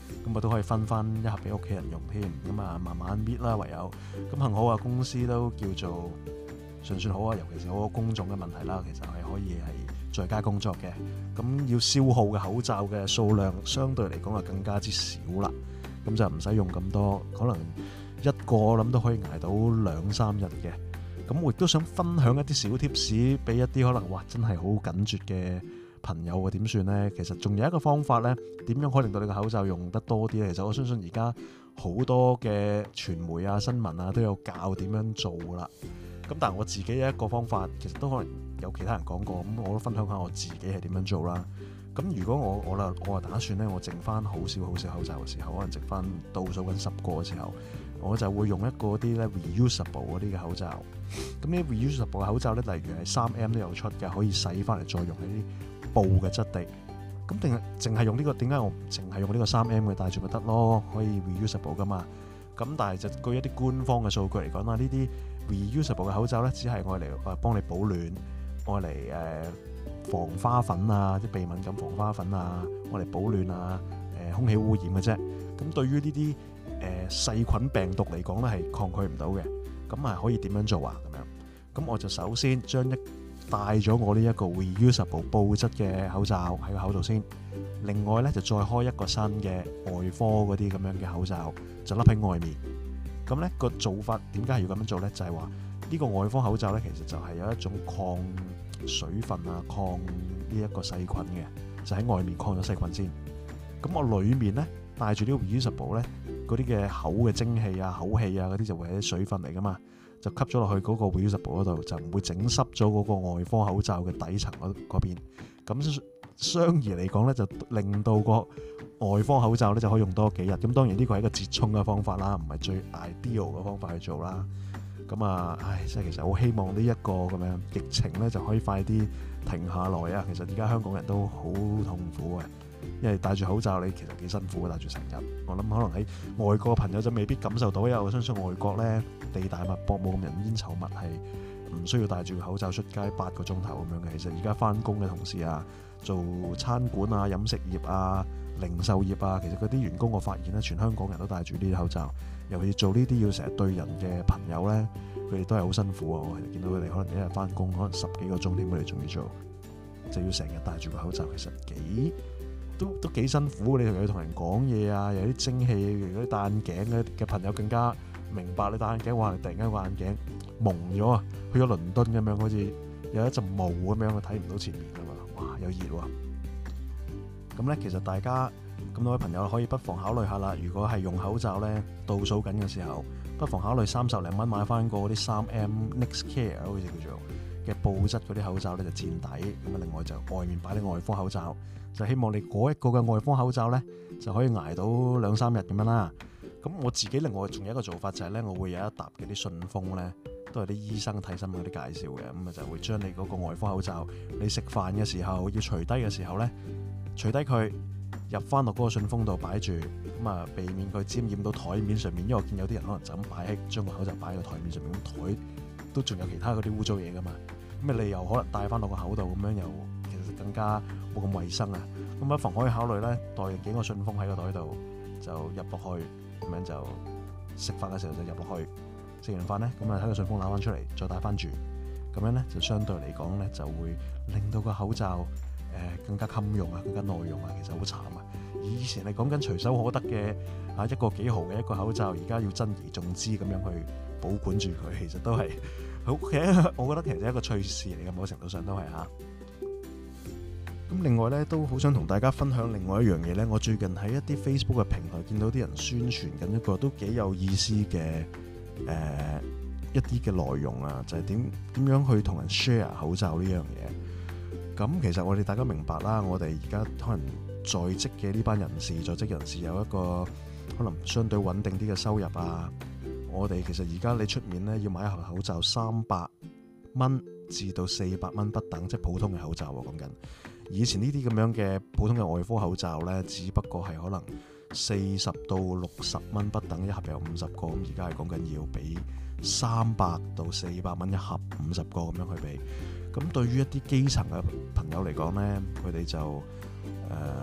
咁我都可以分翻一盒俾屋企人用添。咁啊慢慢搣啦，唯有咁幸好啊，公司都叫做尚算好啊，尤其是好多工種嘅問題啦，其實係可以係在家工作嘅。咁要消耗嘅口罩嘅數量相對嚟講啊更加之少啦。咁就唔使用咁多，可能一個我諗都可以捱到兩三日嘅。咁我亦都想分享一啲小貼士俾一啲可能哇真係好緊絀嘅朋友啊，點算呢？其實仲有一個方法呢，點樣可以令到你個口罩用得多啲呢？其實我相信而家好多嘅傳媒啊、新聞啊都有教點樣做啦。咁但係我自己有一個方法，其實都可能有其他人講過，咁我都分享下我自己係點樣做啦。咁如果我我啦我打算咧，我剩翻好少好少口罩嘅時候，可能剩翻倒數緊十個嘅時候，我就會用一個啲咧 reusable 嗰啲嘅口罩。咁呢 reusable 嘅口罩咧，例如係三 M 都有出嘅，可以洗翻嚟再用喺啲布嘅質地。咁定係淨係用呢個？點解我唔淨係用呢個三 M 嘅戴住咪得咯？可以 reusable 噶嘛？咁但係就據一啲官方嘅數據嚟講啦，呢啲 reusable 嘅口罩咧，只係愛嚟誒幫你保暖，愛嚟誒防花粉啊，啲鼻敏感防花粉啊，愛嚟保暖啊，誒空氣污染嘅啫。咁對於呢啲誒細菌病毒嚟講咧，係抗拒唔到嘅。咁係可以點樣做啊？咁樣咁我就首先將一戴咗我呢一個 reusable 布質嘅口罩喺個口度先。另外咧就再開一個新嘅外科嗰啲咁樣嘅口罩，就笠喺外面。咁咧個做法點解係要咁樣做咧？就係話呢個外科口罩咧，其實就係有一種抗水分啊、抗呢一個細菌嘅，就喺外面抗咗細菌先。咁我裡面咧戴住呢個 reusable 咧，嗰啲嘅口嘅蒸氣啊、口氣啊嗰啲就會係啲水分嚟噶嘛，就吸咗落去嗰個 reusable 嗰度，就唔會整濕咗嗰個外科口罩嘅底層嗰嗰邊。咁相宜嚟講咧，就令到個外科口罩咧就可以用多幾日。咁當然呢個係一個折衷嘅方法啦，唔係最 ideal 嘅方法去做啦。咁啊，唉，即係其實好希望呢一個咁樣疫情咧就可以快啲停下來啊！其實而家香港人都好痛苦嘅，因為戴住口罩你其實幾辛苦嘅，戴住成日。我諗可能喺外國嘅朋友就未必感受到，因為我相信外國咧地大物博，冇咁人煙稠密，係唔需要戴住個口罩出街八個鐘頭咁樣嘅。其實而家翻工嘅同事啊，做餐館啊、飲食業啊、零售業啊，其實嗰啲員工我發現咧，全香港人都戴住呢啲口罩。尤其做呢啲要成日對人嘅朋友咧，佢哋都係好辛苦啊！我見到佢哋可能一日翻工，可能十幾個鐘添，佢哋仲要做，就要成日戴住個口罩，其實幾都都幾辛苦。你同佢同人講嘢啊，有啲蒸氣，如果戴眼鏡嘅朋友更加明白。你戴眼鏡，哇！突然間個眼鏡蒙咗啊，去咗倫敦咁樣，好似有一陣霧咁樣，佢睇唔到前面㗎嘛，哇！有熱喎。咁咧，其實大家咁多位朋友可以不妨考慮下啦。如果係用口罩咧倒數緊嘅時候，不妨考慮三十零蚊買翻個嗰啲三 M NextCare 好似叫做嘅布質嗰啲口罩咧，就墊底。咁啊，另外就外面擺啲外科口罩，就希望你嗰一個嘅外科口罩咧就可以捱到兩三日咁樣啦。咁我自己另外仲有一個做法就係咧，我會有一沓嘅啲信封咧，都係啲醫生睇新聞嗰啲介紹嘅。咁啊就會將你嗰個外科口罩，你食飯嘅時候要除低嘅時候咧，除低佢。入翻落嗰個信封度擺住，咁啊避免佢沾染到台面上面，因為我見有啲人可能就咁擺喺將個口罩擺喺個台面上面，咁台都仲有其他嗰啲污糟嘢噶嘛，咁啊你又可能戴翻落個口度，咁樣又其實更加冇咁衞生啊。咁不妨可以考慮咧，帶幾個信封喺個袋度就入落去，咁樣就食飯嘅時候就入落去，食完飯咧咁啊喺個信封攞翻出嚟再戴翻住，咁樣咧就相對嚟講咧就會令到個口罩誒更加襟用啊，更加耐用啊，其實好慘啊！以前係講緊隨手可得嘅啊一個幾毫嘅一個口罩，而家要珍而重之咁樣去保管住佢，其實都係好嘅。我覺得其實係一個趣事嚟嘅，某程度上都係嚇。咁另外咧，都好想同大家分享另外一樣嘢咧。我最近喺一啲 Facebook 嘅平台見到啲人宣傳緊一個都幾有意思嘅誒、呃、一啲嘅內容啊，就係點點樣去同人 share 口罩呢樣嘢。咁其實我哋大家明白啦，我哋而家可能在職嘅呢班人士，在職人士有一個可能相對穩定啲嘅收入啊。我哋其實而家你出面咧要買一盒口罩三百蚊至到四百蚊不等，即係普通嘅口罩喎。講緊以前呢啲咁樣嘅普通嘅外科口罩咧，只不過係可能四十到六十蚊不等，一盒有五十個。咁而家係講緊要俾三百到四百蚊一盒五十個咁樣去俾。咁對於一啲基層嘅朋友嚟講咧，佢哋就誒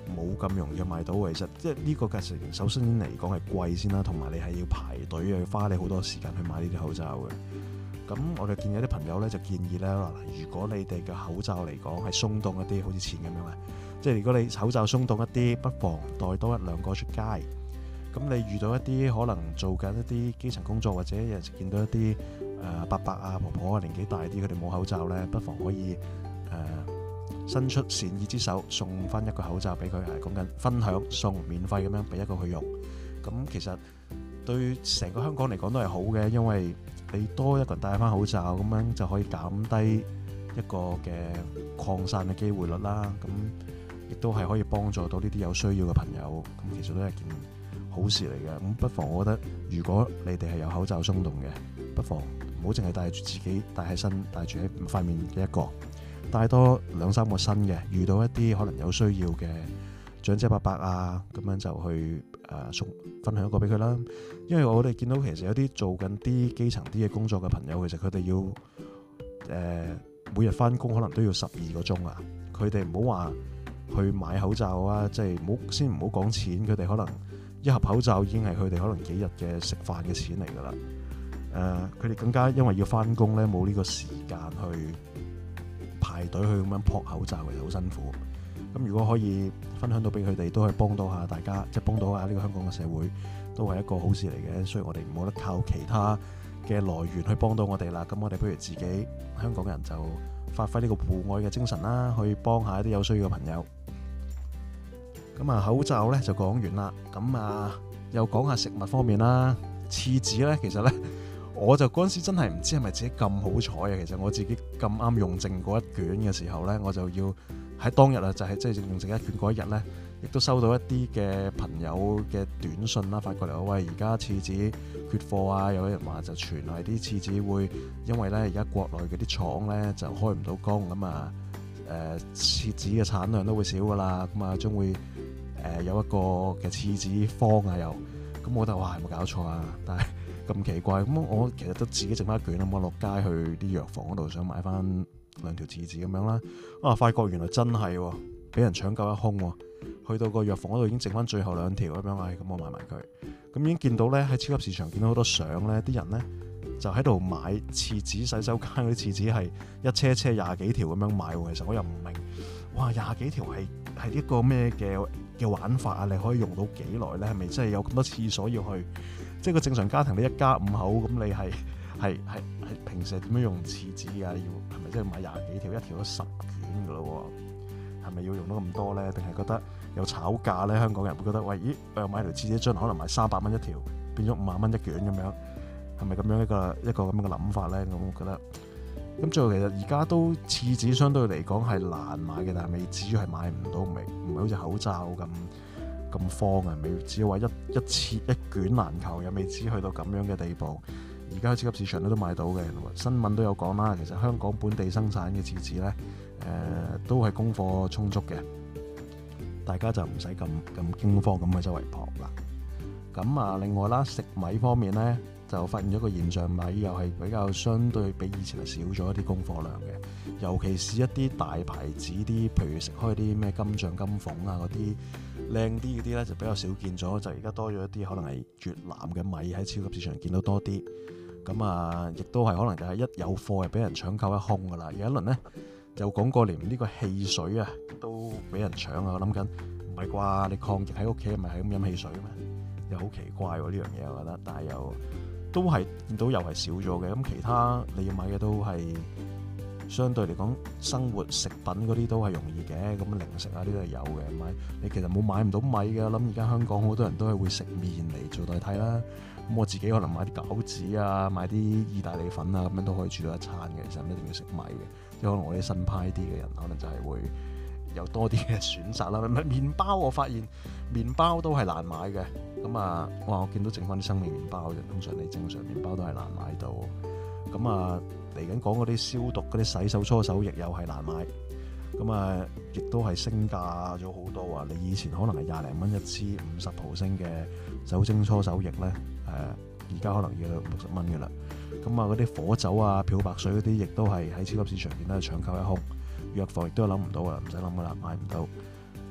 冇咁容易買到。其實即係呢個價錢，首先嚟講係貴先啦，同埋你係要排隊，要花你好多時間去買呢啲口罩嘅。咁我哋見有啲朋友咧就建議咧，如果你哋嘅口罩嚟講係鬆動一啲，好似前咁樣啊，即係如果你口罩鬆動一啲，不妨帶多一兩個出街。咁你遇到一啲可能做緊一啲基層工作，或者有陣時見到一啲誒、呃、伯伯啊、婆婆啊年紀大啲，佢哋冇口罩咧，不妨可以誒、呃、伸出善意之手，送翻一個口罩俾佢，係講緊分享送免費咁樣俾一個佢用。咁其實對成個香港嚟講都係好嘅，因為你多一個人戴翻口罩，咁樣就可以減低一個嘅擴散嘅機會率啦。咁亦都係可以幫助到呢啲有需要嘅朋友。咁其實都係件好事嚟嘅。咁不妨我覺得，如果你哋係有口罩鬆動嘅，不妨唔好淨係戴住自己戴喺身，戴住喺塊面嘅一個，戴多兩三個新嘅。遇到一啲可能有需要嘅長者伯伯啊，咁樣就去誒送、呃、分享一個俾佢啦。因為我哋見到其實有啲做緊啲基層啲嘅工作嘅朋友，其實佢哋要誒、呃、每日翻工可能都要十二個鐘啊。佢哋唔好話去買口罩啊，即係唔好先唔好講錢，佢哋可能一盒口罩已經係佢哋可能幾日嘅食飯嘅錢嚟㗎啦。誒、呃，佢哋更加因為要翻工咧，冇呢個時間去排隊去咁樣撲口罩，其實好辛苦。咁如果可以分享到俾佢哋，都係幫到下大家，即係幫到下呢個香港嘅社會，都係一個好事嚟嘅。所以我哋唔好得靠其他嘅來源去幫到我哋啦。咁我哋不如自己香港人就發揮呢個互愛嘅精神啦，去幫下一啲有需要嘅朋友。咁啊，口罩咧就講完啦。咁啊，又講下食物方面啦。廁紙咧，其實咧，我就嗰陣時真係唔知係咪自己咁好彩啊。其實我自己咁啱用剩嗰一卷嘅時候咧，我就要喺當日啊，就係即係用剩一卷嗰一日咧，亦都收到一啲嘅朋友嘅短信啦，發過嚟話喂，而家廁紙缺貨啊，有人話就傳係啲廁紙會因為咧而家國內嗰啲廠咧就開唔到工，咁啊誒廁紙嘅產量都會少噶啦，咁啊將會誒、呃、有一個嘅廁紙荒啊又，咁我覺得哇係冇搞錯啊，但係咁奇怪，咁我其實都自己剩翻一卷，咁我落街去啲藥房嗰度想買翻兩條廁紙咁樣啦，啊發覺原來真係喎，俾人搶購一空喎，去到個藥房嗰度已經剩翻最後兩條咁樣，唉咁我買埋佢，咁已經見到咧喺超級市場見到好多相咧，啲人咧就喺度買廁紙，洗手間嗰啲廁紙係一車車廿幾條咁樣買喎，其實我又唔明，哇廿幾條係係一個咩嘅嘅玩法啊？你可以用到幾耐咧？係咪真係有咁多廁所要去？即係個正常家庭你一家五口咁，你係係係係平時係點樣用廁紙㗎？要係咪真係買廿幾條，一條都十卷㗎咯？係咪要用到咁多咧？定係覺得有炒價咧？香港人會覺得喂，咦，我又買條廁紙樽可能賣三百蚊一條，變咗五萬蚊一卷咁樣，係咪咁樣一個一個咁樣嘅諗法咧？咁我覺得咁最後其實而家都廁紙相對嚟講係難買嘅，但係未至於係買唔到，唔係唔係好似口罩咁咁荒啊，未至於話一一次一卷難求，又未至於去到咁樣嘅地步。而家喺超級市場咧都買到嘅，新聞都有講啦。其實香港本地生產嘅廁紙咧，誒、呃、都係供貨充足嘅，大家就唔使咁咁驚慌咁去周圍撲啦。咁啊，另外啦，食米方面咧，就發現咗個現象，米又係比較相對比以前係少咗一啲供貨量嘅，尤其是一啲大牌子啲，譬如食開啲咩金象金鳳啊嗰啲靚啲嗰啲咧，就比較少見咗，就而家多咗一啲可能係越南嘅米喺超級市場見到多啲。咁啊，亦都係可能就係一有貨係俾人搶購一空噶啦。有一輪咧就講過連呢個汽水啊都俾人搶啊！我諗緊唔係啩？你抗疫喺屋企係咪係咁飲汽水咩？又好奇怪喎呢樣嘢，我覺得。但係又都係見到又係少咗嘅。咁其他你要買嘅都係相對嚟講生活食品嗰啲都係容易嘅。咁零食啊呢啲係有嘅。買你其實冇買唔到米嘅。我諗而家香港好多人都係會食麵嚟做代替啦。咁我自己可能買啲餃子啊，買啲意大利粉啊，咁樣都可以煮到一餐嘅。其實唔一定要食米嘅，即係可能我啲新派啲嘅人，可能就係會有多啲嘅選擇啦。麵包我發現麵包都係難買嘅。咁啊，哇！我見到剩翻啲生命麵包，通常你正常麵包都係難買到。咁啊，嚟緊講嗰啲消毒嗰啲洗手搓手液又係難買。咁啊，亦都係升價咗好多啊！你以前可能係廿零蚊一支五十毫升嘅酒精搓手液咧，誒而家可能要六十蚊嘅啦。咁啊，嗰啲火酒啊、漂白水嗰啲，亦都係喺超級市場見到係搶購一空。藥房亦都諗唔到啊，唔使諗噶啦，買唔到。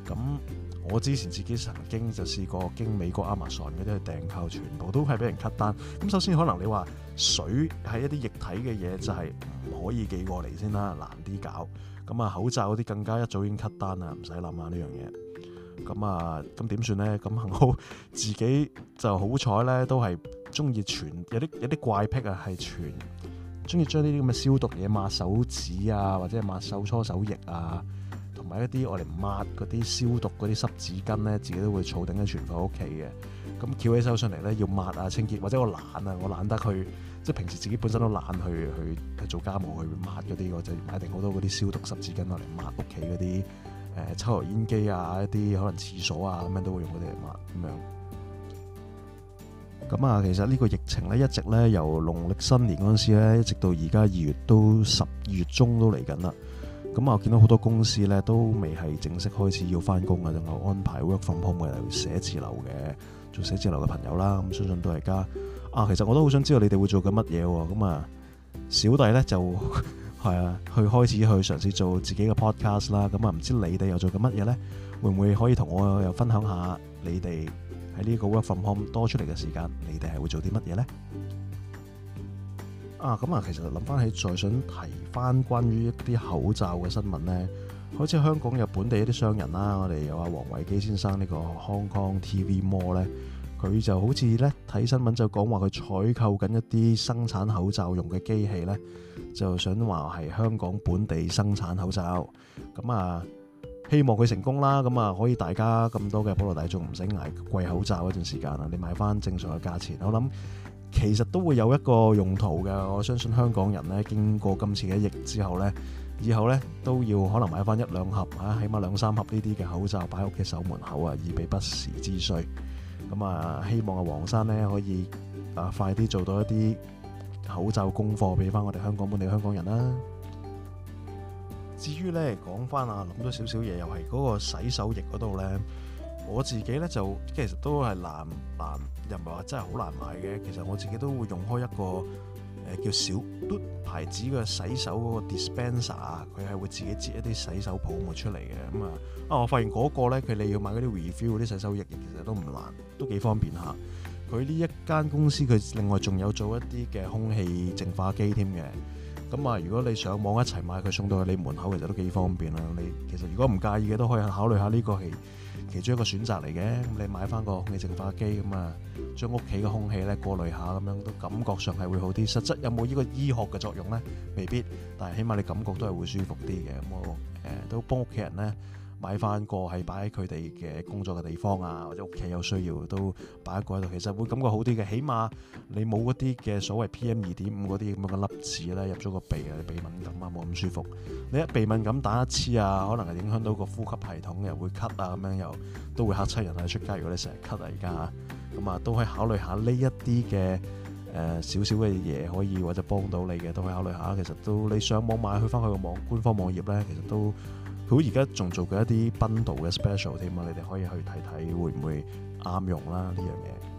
咁我之前自己曾經就試過經美國 Amazon 嗰啲去訂購，全部都係俾人 cut 單。咁首先可能你話水係一啲液體嘅嘢，就係唔可以寄過嚟先啦，難啲搞。咁啊口罩嗰啲更加一早已經 cut 單啦，唔使諗下呢樣嘢。咁啊咁點算咧？咁幸好自己就好彩咧，都係中意傳有啲有啲怪癖啊，係傳中意將呢啲咁嘅消毒嘢抹手指啊，或者係抹手搓手液啊。同埋一啲我哋抹嗰啲消毒嗰啲濕紙巾咧，自己都會儲定喺存放屋企嘅。咁翹起手上嚟咧，要抹啊清潔，或者我懶啊，我懶得去，即係平時自己本身都懶去去去做家務去抹嗰啲，我就買定好多嗰啲消毒濕紙巾落嚟抹屋企嗰啲誒抽油煙機啊，一啲可能廁所啊咁樣都會用嗰啲嚟抹咁樣。咁啊，其實呢個疫情咧一直咧由農曆新年嗰陣時咧，一直到而家二月都十二月中都嚟緊啦。咁啊，我見到好多公司咧都未係正式開始要翻工啊，仲有安排 work from home 嘅寫字樓嘅做寫字樓嘅朋友啦。咁相信都係家啊，其實我都好想知道你哋會做緊乜嘢喎。咁啊，小弟咧就係啊，去開始去嘗試做自己嘅 podcast 啦。咁啊，唔知你哋又做緊乜嘢咧？會唔會可以同我又分享下你哋喺呢個 work from home 多出嚟嘅時間，你哋係會做啲乜嘢咧？啊，咁啊，其實諗翻起，再想提翻關於一啲口罩嘅新聞呢，好似香港有本地一啲商人啦，我哋有阿黃維基先生呢個 Hong Kong T V Mall 呢，佢就好似呢睇新聞就講話佢採購緊一啲生產口罩用嘅機器呢，就想話係香港本地生產口罩，咁啊希望佢成功啦，咁啊可以大家咁多嘅普羅大眾唔使捱貴口罩一段時間啊，你買翻正常嘅價錢，我諗。其實都會有一個用途嘅，我相信香港人咧經過今次嘅疫之後咧，以後咧都要可能買翻一兩盒啊，起碼兩三盒呢啲嘅口罩擺喺屋企守門口啊，以備不時之需。咁啊，希望阿黃生咧可以啊快啲做到一啲口罩供貨俾翻我哋香港本地香港人啦。至於咧講翻啊，諗咗少少嘢，又係嗰個洗手液嗰度咧。我自己咧就其實都係難難，又唔係話真係好難買嘅。其實我自己都會用開一個誒、呃、叫小嘟牌子嘅洗手嗰個 dispenser 啊，佢係會自己擠一啲洗手泡沫出嚟嘅。咁啊啊，我發現嗰個咧佢你要買嗰啲 refill 嗰啲洗手液，其實都唔難，都幾方便下。佢呢一間公司佢另外仲有做一啲嘅空氣淨化機添嘅。咁啊，如果你上網一齊買，佢送到去你門口，其實都幾方便啦。你其實如果唔介意嘅，都可以考慮下呢個係其中一個選擇嚟嘅。咁你買翻個空氣淨化機，咁啊將屋企嘅空氣咧過濾下，咁樣都感覺上係會好啲。實質有冇呢個醫學嘅作用咧？未必，但係起碼你感覺都係會舒服啲嘅。咁我誒、呃、都幫屋企人咧買翻個係擺喺佢哋嘅工作嘅地方啊，或者屋企有需要都擺一個喺度，其實會感覺好啲嘅。起碼你冇嗰啲嘅所謂 P M 二點五嗰啲咁樣嘅粒子咧入咗個鼻啊，你鼻敏感啊，冇咁舒服。你一鼻敏感打一次啊，可能係影響到個呼吸系統，又會咳啊，咁樣又都會嚇親人啊。出街如果你成日咳啊，而家咁啊都可以考慮下呢一啲嘅誒少少嘅嘢，可以或者幫到你嘅，都可以考慮下。其實都你上網買去翻佢個網官方網頁咧，其實都。佢而家仲做緊一啲 bundle 嘅 special 添啊，你哋可以去睇睇會唔會啱用啦呢樣嘢。